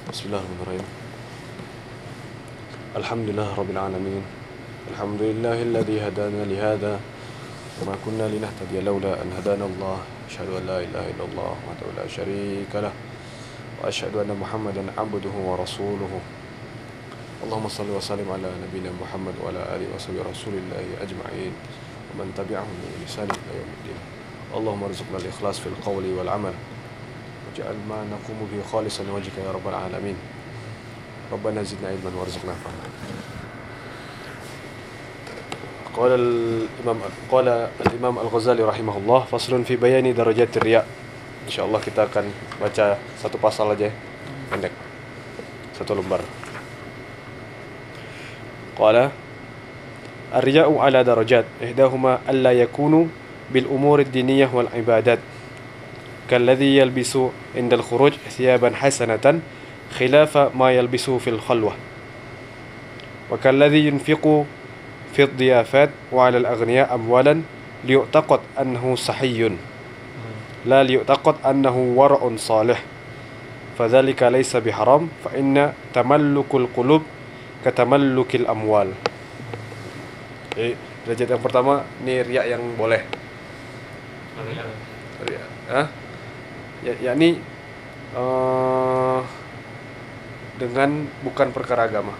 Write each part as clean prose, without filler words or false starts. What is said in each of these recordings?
Bismillahirrahmanirrahim. Alhamdulillah rabbil alamin. Alhamdulillahilladzi hadana li hadza wa ma kunna linahtadiya laula an hadana Allah. Asyhadu an la ilaha illallah wahdahu la syarika lah wa asyhadu anna Muhammadan abduhu wa rasuluhu. Allahumma shalli wa sallim ala nabiyyina Muhammad wa ala alihi wa sahbihi rasulillahi ajma'in wa man tabi'ahum bi ihsan ila yaumiddin. Allahumma arzuqna al-ikhlas fil qawli wal 'amal waj'al ma naqumu bihi khalisan wajhika ya rabbal alamin. Rabbana zidna ilman warzuqna fahma. Qala al-Imam Al-Ghazali rahimahullah, faslun fi bayani darajatir riya. Insyaallah kita akan baca satu pasal aja, pendek. Satu lembar. Qala ar-riya'u ala darajat, ihdahuma alla yakunu bil umuri ad-diniyah wal ibadat. Kalladhi yalbisu indal khuruj thiyaban hasanatan khilafa ma yalbisu fil khalwah. Wa kalladhi yunfiqu في الضيافات وعلى الأغنياء أموالا ليعتقد أنه صحي لا ليعتقد أنه ورع صالح فذلك ليس بحرام فإن تملك القلوب كتملك الأموال. Jadi derajat yang pertama ini riya yang boleh. Riya, yakni dengan bukan perkara agama.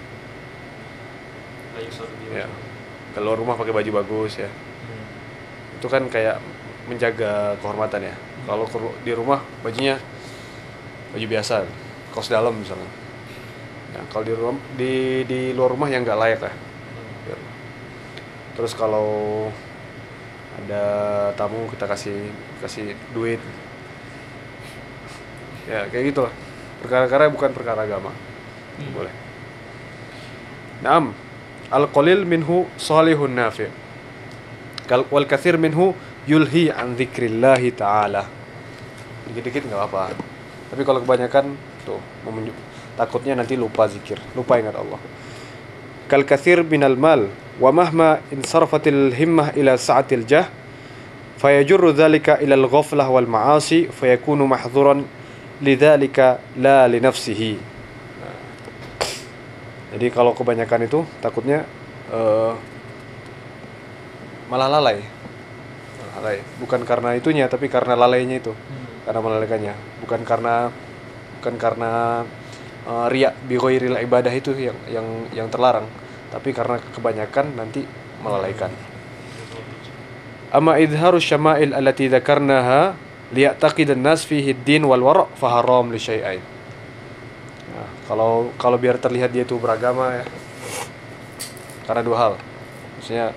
Ya. Kalau rumah pakai baju bagus ya, itu kan kayak menjaga kehormatan ya. Kalau di rumah bajunya baju biasa, kaos dalam misalnya. Nah, kalau di luar rumah yang nggak layak lah. Terus kalau ada tamu kita kasih duit, ya kayak gitu lah. Perkara-perkara bukan perkara agama, boleh. Naam. Al-qalil minhu salihun nafi' wal katsir minhu yulhi an dzikrillahi ta'ala. Dikit-dikit enggak apa-apa. Tapi kalau kebanyakan tuh takutnya nanti lupa zikir, lupa ingat Allah. Kal katsir minal mal wa mahma insarafatil himmah ila sa'atil jah fayajurru dzalika ila al-ghaflah wal ma'asi fayakunu mahdhuran lidzalika la li nafsihi. Jadi kalau kebanyakan itu takutnya malah lalai. Bukan karena itunya, tapi karena lalainya itu, karena melalaikannya. Bukan karena riya bi ghairil ibadah itu yang terlarang, tapi karena kebanyakan nanti melalaikan. Amma idharu syama'il allati dzakarnaha liya'taqidan nas fihi ad-din wal wara' fa haram li syai'ain. Kalau biar terlihat dia itu beragama ya, karena dua hal, maksudnya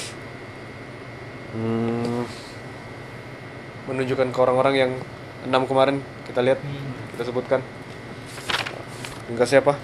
menunjukkan ke orang-orang yang 6 kemarin kita lihat, kita sebutkan ringkasnya apa?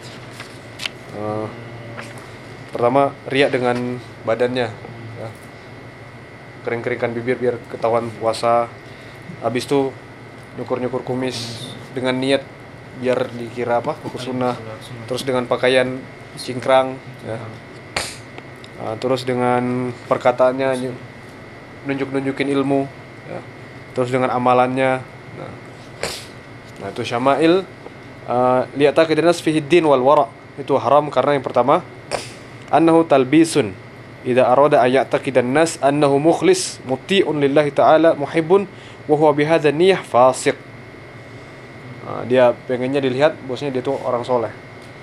Pertama, riya dengan badannya ya. Kering-keringkan bibir biar ketahuan puasa. Habis itu nyukur-nyukur kumis dengan niat biar dikira apa? Hukum sunnah. Terus dengan pakaian cingkrang ya. Terus dengan perkataannya nunjukin ilmu ya. Terus dengan amalannya. Nah itu syama'il liya'taqid an-nas fihi ad-din wal wara'. Itu haram karena yang pertama annahu talbisun idza arada ay ya'taqid an-nas annahu mukhlis muti'un lillahi ta'ala muhibbun wa huwa bihadza niyyah fasiq. Dia pengennya dilihat bosnya dia tuh orang soleh.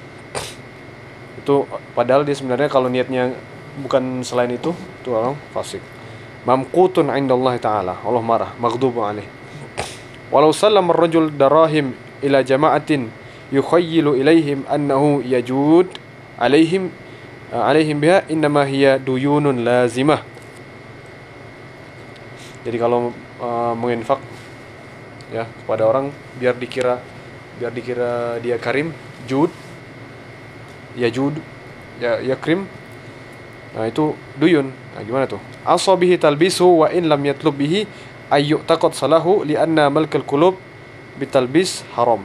Itu padahal dia sebenarnya kalau niatnya bukan selain itu orang fasik. Mamqutun 'indallahi ta'ala. Allah marah, maghdubu alaih. Walau sallama ar-rajul darahim ila jama'atin yukhayyilu ilaihim annahu yajud alaihim biha innama hiya duyunun lazimah. Jadi kalau menginfak ya kepada orang biar dikira dia karim, jud ya krim. Nah itu duyun. Nah gimana tuh? Asabihi talbisu wa in lam yatlub bihi ayyuk taqad salahu lianna malkal qulub bitalbis haram.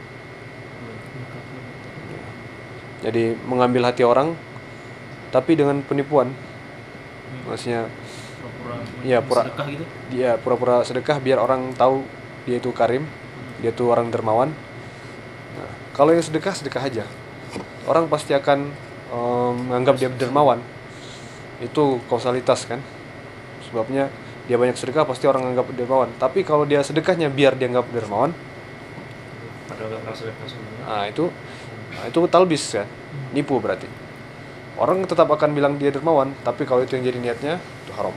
Jadi mengambil hati orang tapi dengan penipuan. Maksudnya sedekah gitu. Dia pura-pura sedekah biar orang tahu dia itu karim, dia itu orang dermawan. Nah, Kalau yang sedekah aja. Orang pasti akan menganggap dia dermawan. Itu kausalitas kan. Sebabnya dia banyak sedekah pasti orang anggap dermawan. Tapi kalau dia sedekahnya biar dia anggap dermawan, padahal nggak pernah sedekah sebenarnya. itu talbis kan, nipu berarti. Orang tetap akan bilang dia dermawan, tapi kalau itu yang jadi niatnya itu haram.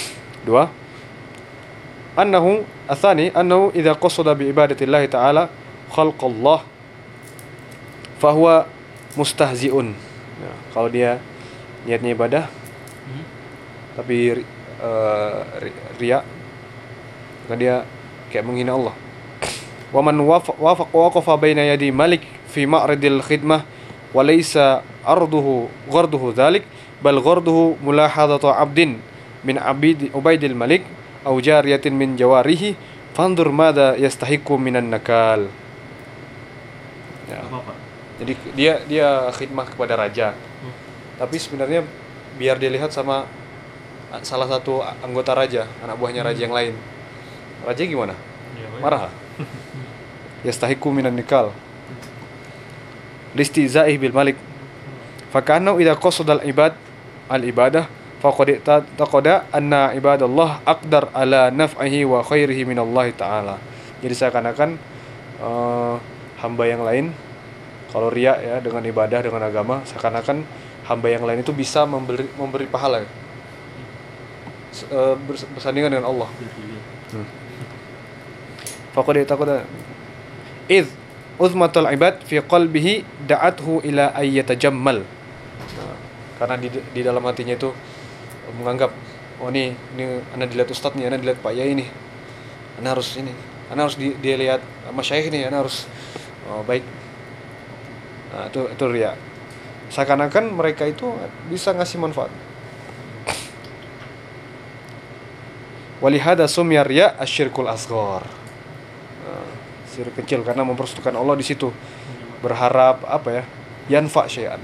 2. Annahu idza qasada bi ibadatillahi ta'ala khalqallah fahuwa mustahzi'un. Ya, kalau dia niatnya ibadah tapi riya, maka dia kayak menghina Allah. Wa man waqafa baina yadi malik fi ma'ridil khidmah wa laysa gharduhu dhalik bal gharduhu mulahadatu 'abdin min 'abidi ubaidil malik aw jariyatin min jawarihi fandur madza yastahiqu minan nakal. Ya. Apa? Jadi dia khidmah kepada raja. Tapi sebenarnya biar dilihat sama salah satu anggota raja, anak buahnya raja yang lain. Raja gimana? Ya, Marah. Yastahiqu minan nikal. Listizaih bil malik. Fakana idza qasada al ibadah faqad taqada anna ibadallah aqdar ala naf'ihi wa khairihi min Allah taala. Jadi seakan-akan hamba yang lain, kalau riya ya dengan ibadah, dengan agama, seakan-akan hamba yang lain itu bisa memberi pahala bersandingan dengan Allah. Faqad taqada id uzmatul ibad fi qalbihi da'athu ila ayyatajammal. Karena di dalam hatinya itu menganggap, oh ini ana dilihat ustaz nih, ana dilihat Pak Yai nih, ana harus dia lihat masyayikh nih, ana harus baik. Nah, itu riya. Seakan-akan mereka itu bisa ngasih manfaat. Walihada sumya riya asyirkul asghar. Syirik kecil karena mempersekutukan Allah di situ. Berharap yanfa syai'an.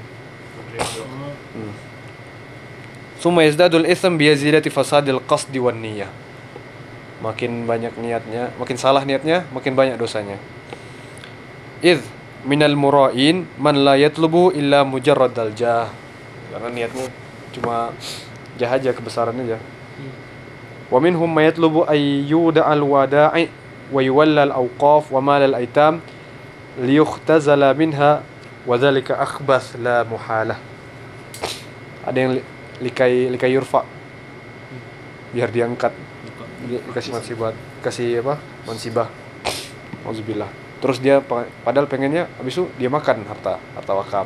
Summa yazdadul itsm bi yazidati fasadil qasdi wan niyyah. Makin banyak niatnya, makin salah niatnya, makin banyak dosanya. Idz minal mura'in man la yatlubu illa mujarradal jah. Karena niatnya cuma jah aja, kebesaran aja. Wa minhum may yatlubu ayyuda al-wada'i wa yuwalla al-awqaf wa mal al-aitam liyukhtazala minha wa dhalika akhbas la muhalah. Ada yang likai yurfa, biar diangkat, dikasih mansibah. Auzubillah. Terus dia padahal pengennya habis itu dia makan harta wakaf.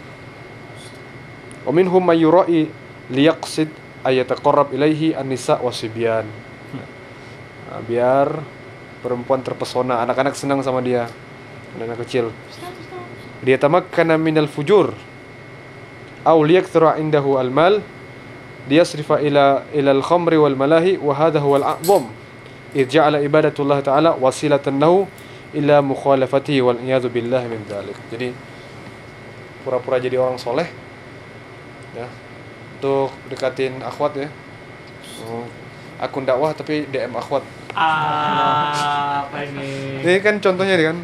Wa minhum may yura'i liyaqsid ayataqarrab ilaihi an-nisa wasibyan. Nah, biar perempuan terpesona, anak-anak senang sama dia, anak kecil. Dia tamakkana minal fujur aw liyakthura indahu al-mal liyasrifa ila al-khamri wal malahi wa hadha huwa al-a'zam idh ja'ala ibadatullah ta'ala wasilatan lahu ila mukhalafatihi wal iyadzu billahi min dzalik. Jadi pura-pura jadi orang soleh ya, untuk dekatin akhwat ya. Akun dakwah tapi DM akhwat. Apa ini? Ini kan contohnya kan.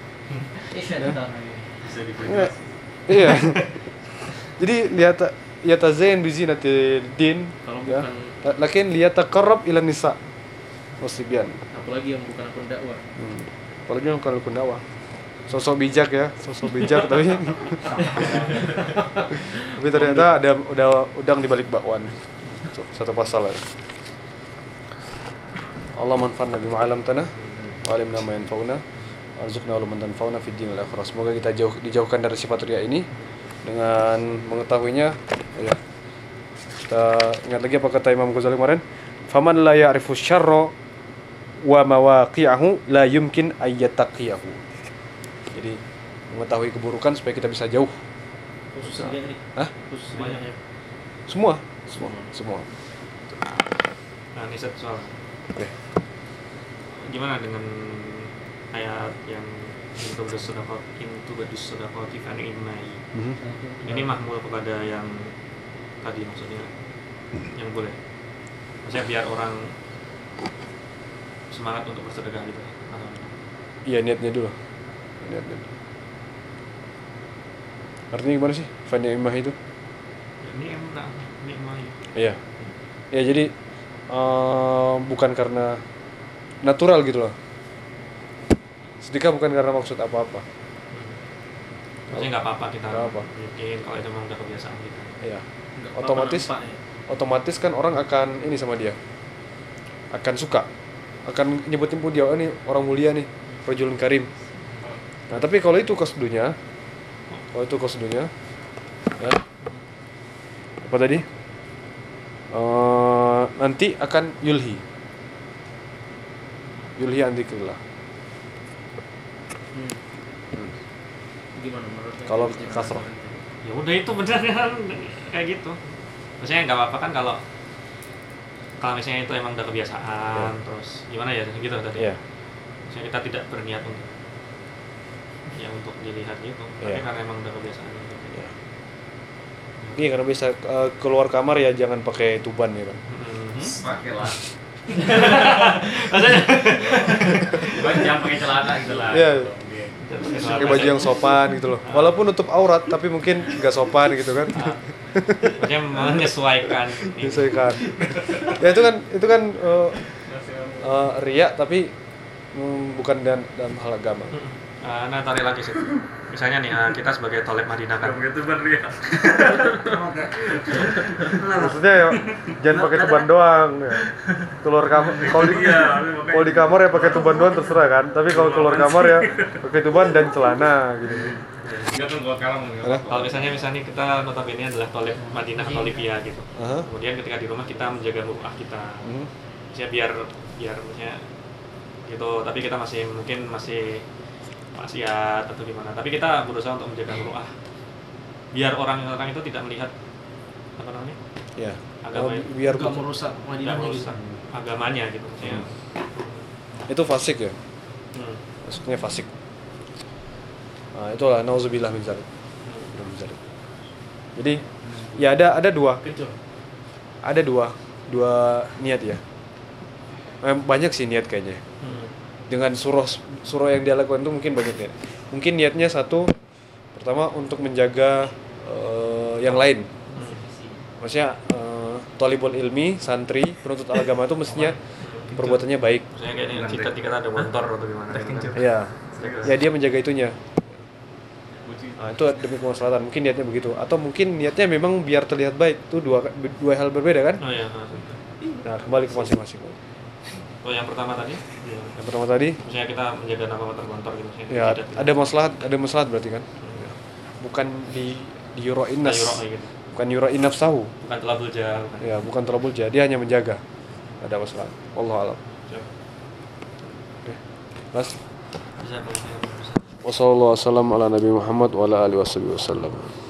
Bisa diprediksi. Iya. Jadi yatazain bi zinatil din Kalau ya. bukan, Lakin liyataqarrab ila nisa wasibyan. apalagi yang bukan akun dakwah. Apalagi kalau akun dakwah. Sosok bijak tapi tapi ternyata ada udang di balik bakwan. Satu pasal ya. Allah manfa'na bima 'allamtana wa 'allimna ma yanfa'una warzuqna ilman tanfa'una fid din wal akhirah. Semoga kita dijauhkan dari sifat riya ini dengan mengetahuinya ya. Kita ingat lagi apa kata Imam Ghazali kemarin, faman la ya'rifu syarra wa mawaqi'ahu la yumkin ayyattaqiyahu. Jadi mengetahui keburukan supaya kita bisa jauh. Khusus dia tadi. Hah? Khusus dia ya. Semua. Nah, ini satu soal. Oke. Gimana dengan ayat yang intubadus sedaqati fa ni'mai. Ini mahmul kepada yang tadi, maksudnya yang boleh. Maksudnya biar orang semangat untuk bersedekah gitu. Iya, niatnya dulu. Artinya gimana sih fa ni'mah itu? Ini emang nikmah. Iya. Ya jadi bukan karena natural gitu loh. Sedekah bukan karena maksud apa-apa. Maksudnya nggak apa-apa kita Nggak apa. bikin kalau itu memang udah kebiasaan kita. Iya. Nggak Otomatis apa-apa nampak, ya. otomatis kan orang akan ini sama dia. Akan suka. Akan nyebutin pun dia, oh, ini orang mulia nih, rajulun karim. Nah, tapi kalau itu qasdunya, ya, apa tadi? Nanti akan yulhi an dzikrillah. Gimana menurutnya? Kalau kasroh. Ya udah itu benar kan kayak gitu. Maksudnya nggak apa-apa kan kalau misalnya itu emang udah kebiasaan, terus gimana ya gitu tadi. Iya. Maksudnya kita tidak berniat untuk untuk dilihat gitu, tapi Iya. karena emang udah kebiasaan gitu. Iya. Iya, karena bisa keluar kamar ya jangan pakai tuban gitu. Pakai lah. Maksudnya Jangan pakai celana gitu lah. Iya. Pakai baju yang sopan gitu loh. Walaupun nutup aurat tapi mungkin nggak sopan gitu kan. maksudnya menyesuaikan. Disesuaikan. Ya itu kan riya tapi bukan dalam hal agama. Nah tarik lagi sih. Misalnya nih kita sebagai Thalib Madinah kan. Begitu bener ya. Maksudnya ya jangan pakai tuban doang ya. Keluar kamar kalau di kamar ya pakai tuban doang terserah kan. Tapi kalau keluar kamar ya pakai tuban dan celana gitu. Enggak tuh gua kalah Kalau misalnya kita notabene adalah Thalib Madinah atau Libya gitu. Aha. Kemudian ketika di rumah kita menjaga muruah kita. Maksudnya biar maksudnya gitu, tapi kita masih maksiat atau gimana. Tapi kita berusaha untuk menjaga muruah. Biar orang-orang itu tidak melihat apa namanya? Ya. Agama Biar Enggak merusak tidak Madinahnya gitu. merusak agamanya gitu maksudnya. itu fasik ya. Maksudnya fasik. Nah, itulah nauzubillah min dzalik. Jadi ya ada dua niat ya. Banyak sih niat kayaknya. Dengan surah yang dia lakukan itu mungkin banyak niat. Mungkin niatnya satu, pertama untuk menjaga yang lain. Maksudnya thalibul ilmi, santri, penuntut agama itu mestinya perbuatannya baik. Maksudnya kayak ini jika ada motor atau gimana gitu kan. Iya. Ya dia menjaga itunya. Nah, itu demi kemaslahatan. Mungkin niatnya begitu. Atau mungkin niatnya memang biar terlihat baik. Itu dua hal berbeda kan? Oh iya. Nah, kembali ke masing-masing. Oh yang pertama tadi? Yang pertama tadi, Maksudnya kita menjaga nama motor gitu. ya ada maslahat berarti kan? Bukan di yuroin nas. Gitu. Bukan yuroin nafsahu. Bukan telabul jauh. Ya, bukan terlabul jadi, dia hanya menjaga. Ada masalah. Wallahu a'lam. Oke. Mas. Bisa. Wassallallahu wasallam ala Nabi Muhammad wa ala alihi wasallam.